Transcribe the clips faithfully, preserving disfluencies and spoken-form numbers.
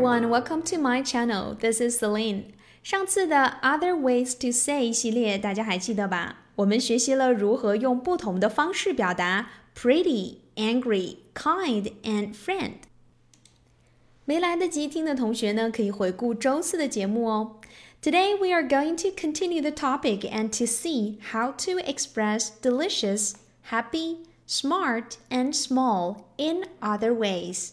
everyone, welcome to my channel. This is Celine. 上次的 Other Ways to Say 系列大家还记得吧？我们学习了如何用不同的方式表达 pretty, angry, kind, and friend. 没来得及听的同学呢，可以回顾周四的节目哦。Today we are going to continue the topic and to see how to express delicious, happy, smart, and small in other ways.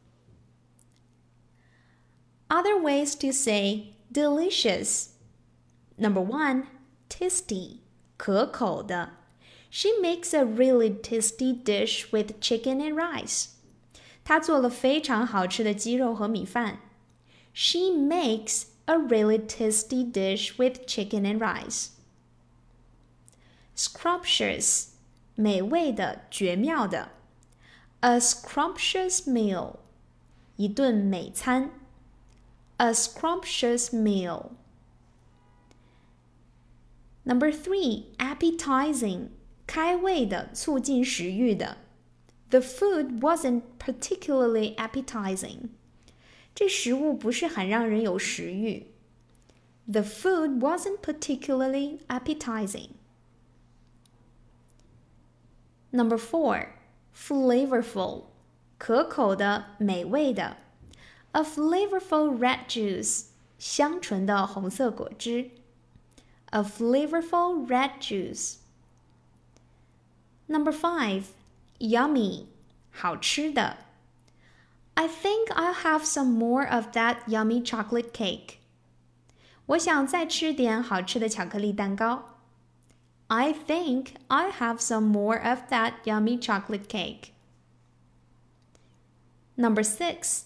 Other ways to say delicious. Number one, tasty, 可口的。She makes a really tasty dish with chicken and rice. 她做了非常好吃的鸡肉和米饭。She makes a really tasty dish with chicken and rice. Scrumptious, 美味的，绝妙的。A scrumptious meal, 一顿美餐。A scrumptious meal. Number three, appetizing, 开胃的，促进食欲的。The food wasn't particularly appetizing. 这食物不是很让人有食欲。The food wasn't particularly appetizing. Number four, flavorful, 可口的，美味的。A flavorful red juice, 香醇的红色果汁。A flavorful red juice. Number five, yummy, 好吃的。I think I'll have some more of that yummy chocolate cake. 我想再吃点好吃的巧克力蛋糕。I think I'll have some more of that yummy chocolate cake. Number six,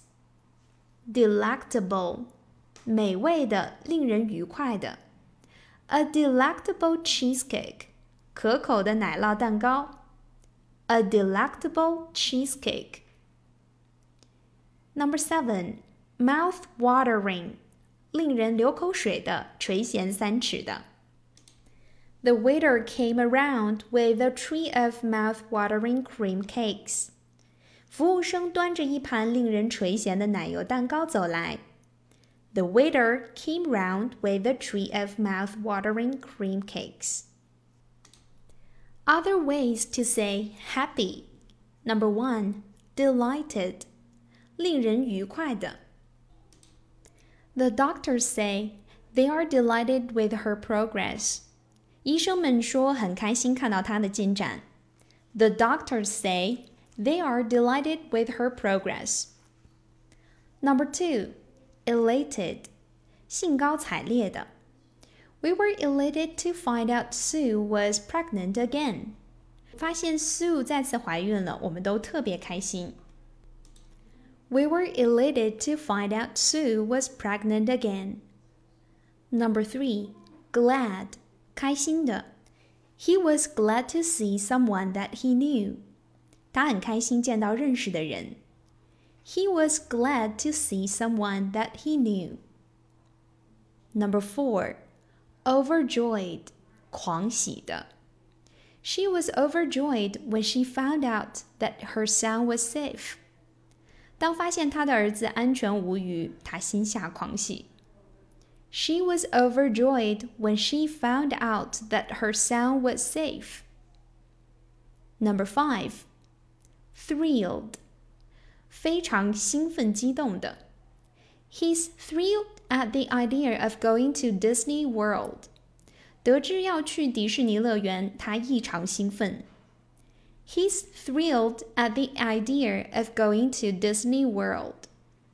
delectable, 美味的，令人愉快的。A delectable cheesecake, 可口的奶酪蛋糕。A delectable cheesecake. Number seven, mouth-watering, 令人流口水的，垂涎三尺的。The waiter came around with a tray of mouth-watering cream cakes. 服务生端着一盘令人垂涎的奶油蛋糕走来。The waiter came round with a tray of mouth-watering cream cakes. Other ways to say happy. Number one, delighted, 令人愉快的。The doctors say they are delighted with her progress. 医生们说很开心看到她的进展。The doctors say they are delighted with her progress. Number two, elated, 兴高采烈的。We were elated to find out Sue was pregnant again. 发现 Sue 再次怀孕了，我们都特别开心。We were elated to find out Sue was pregnant again. Number three, glad, 开心的。He was glad to see someone that he knew. 他很开心见到认识的人。He was glad to see someone that he knew. Number four, overjoyed, 狂喜的。She was overjoyed when she found out that her son was safe. 当发现她的儿子安全无虞，她心下狂喜。She was overjoyed when she found out that her son was safe. Number five, thrilled, 非常兴奋激动的。He's thrilled at the idea of going to Disney World. 得知要去迪士尼乐园，他异常兴奋。He's thrilled at the idea of going to Disney World.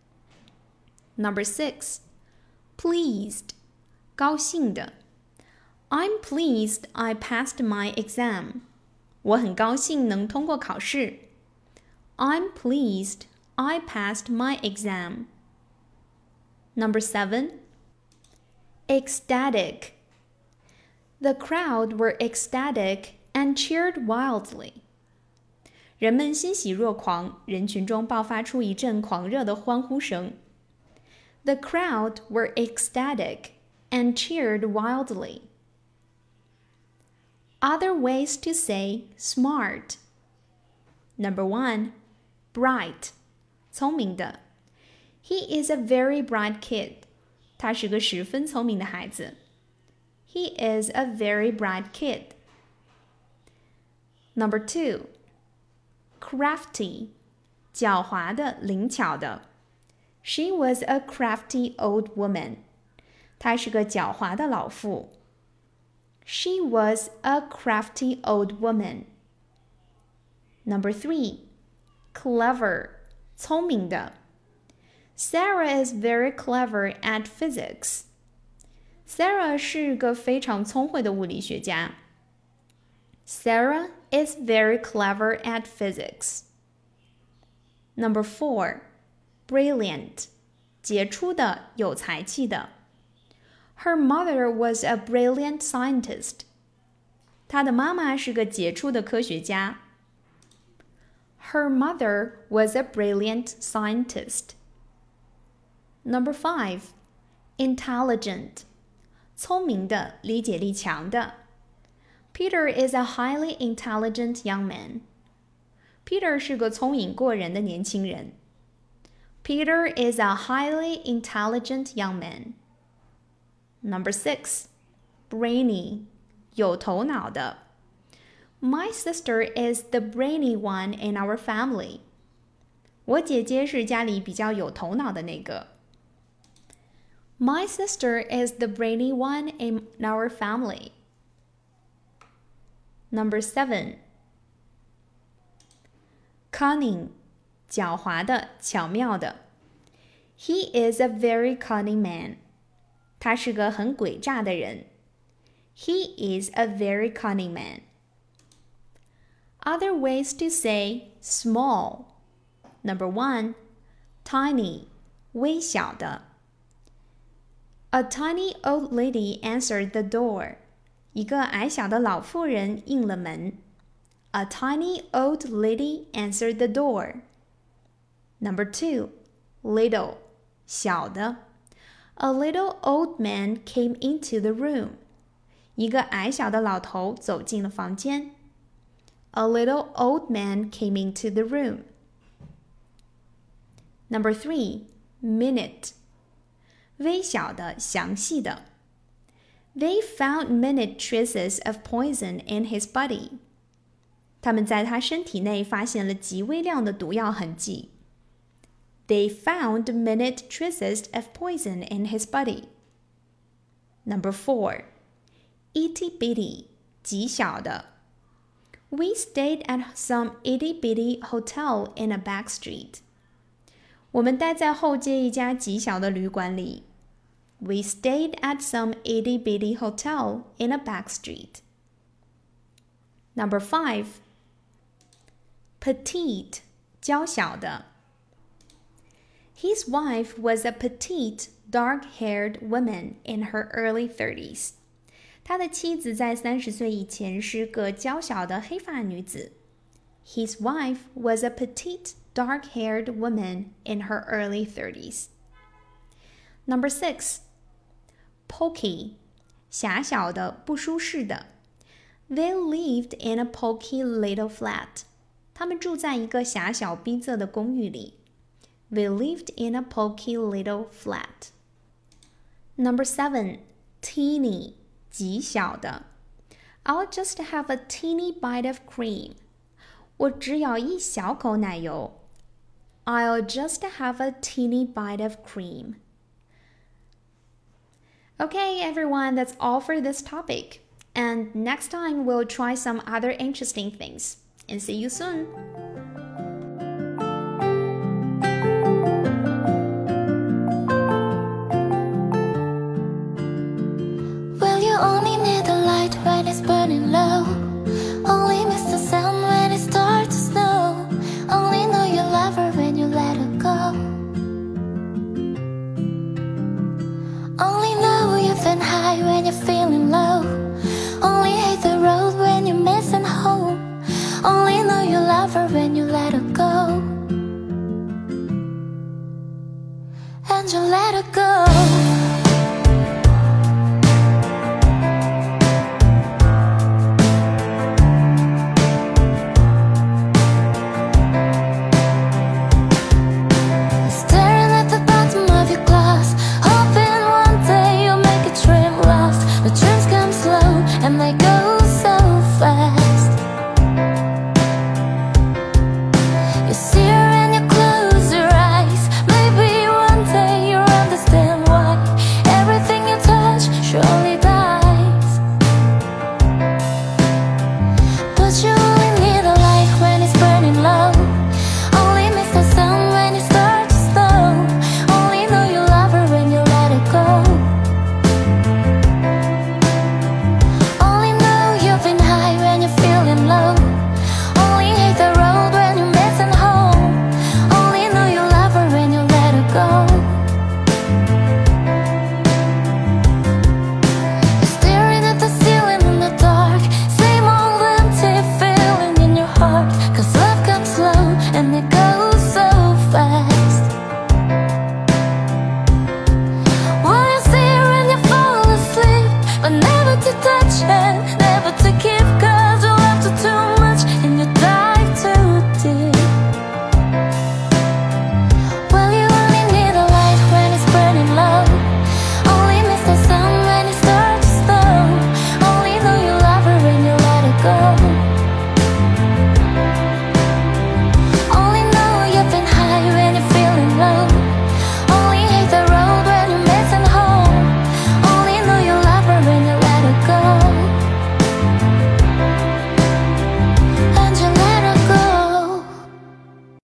Number six, pleased, 高兴的。I'm pleased I passed my exam. 我很高兴能通过考试。I'm pleased I passed my exam. Number seven, ecstatic. The crowd were ecstatic and cheered wildly. 人们欣喜若狂，人群中爆发出一阵狂热的欢呼声。The crowd were ecstatic and cheered wildly. Other ways to say smart. Number one, bright, 聪明的。 He is a very bright kid. 他是个十分聪明的孩子。He is a very bright kid. Number two, crafty, 狡猾的，灵巧的。She was a crafty old woman. 她是个狡猾的老妇。She was a crafty old woman. Number three, clever, 聪明的。Sarah is very clever at physics. Sarah 是个非常聪慧的物理学家。Sarah is very clever at physics. Number four, brilliant, 杰出的，有才气的。Her mother was a brilliant scientist. 她的妈妈是个杰出的科学家。Her mother was a brilliant scientist. Number five, intelligent, 聪明的，理解力强的。Peter is a highly intelligent young man. Peter 是个聪颖过人的年轻人。Peter is a highly intelligent young man. Number six, brainy, 有头脑的。My sister is the brainy one in our family. 我姐姐是家里比较有头脑的那个。My sister is the brainy one in our family. Number seven, cunning, 狡猾的，巧妙的。He is a very cunning man. 他是个很诡诈的人。He is a very cunning man. Other ways to say small. Number one, tiny, 微小的。A tiny old lady answered the door. 一个矮小的老妇人应了门。A tiny old lady answered the door. Number two, little, 小的。A little old man came into the room. 一个矮小的老头走进了房间。A little old man came into the room. Number three, minute, 微小的，详细的。They found minute traces of poison in his body. 他们在他身体内发现了极微量的毒药痕迹。They found minute traces of poison in his body. Number four, itty bitty, 极小的。We stayed at some itty bitty hotel in a back street. 我们待在后街一家极小的旅馆里。We stayed at some itty bitty hotel in a back street. Number five, petite, 娇小的。His wife was a petite, dark-haired woman in her early thirties. 他的妻子在三十岁以前是个娇小的黑发女子。His wife was a petite, dark-haired woman in her early thirties. Number six, poky, 狭小的，不舒适的。They lived in a poky little flat. 他们住在一个狭小逼仄的公寓里。They lived in a poky little flat. Number seven, teeny, 极小的。I'll just have a teeny bite of cream. 我只咬一小口奶油。I'll just have a teeny bite of cream. Okay, everyone, that's all for this topic. And next time we'll try some other interesting things. And see you soon. Well, you only need the light when it's burning low. Only miss the sound when it starts to snow. Only know you love her when you let her go. Only know you've been high when you're feeling low. Only hate the road when you're missing home. Only know you love her when you let her go. And you let her go.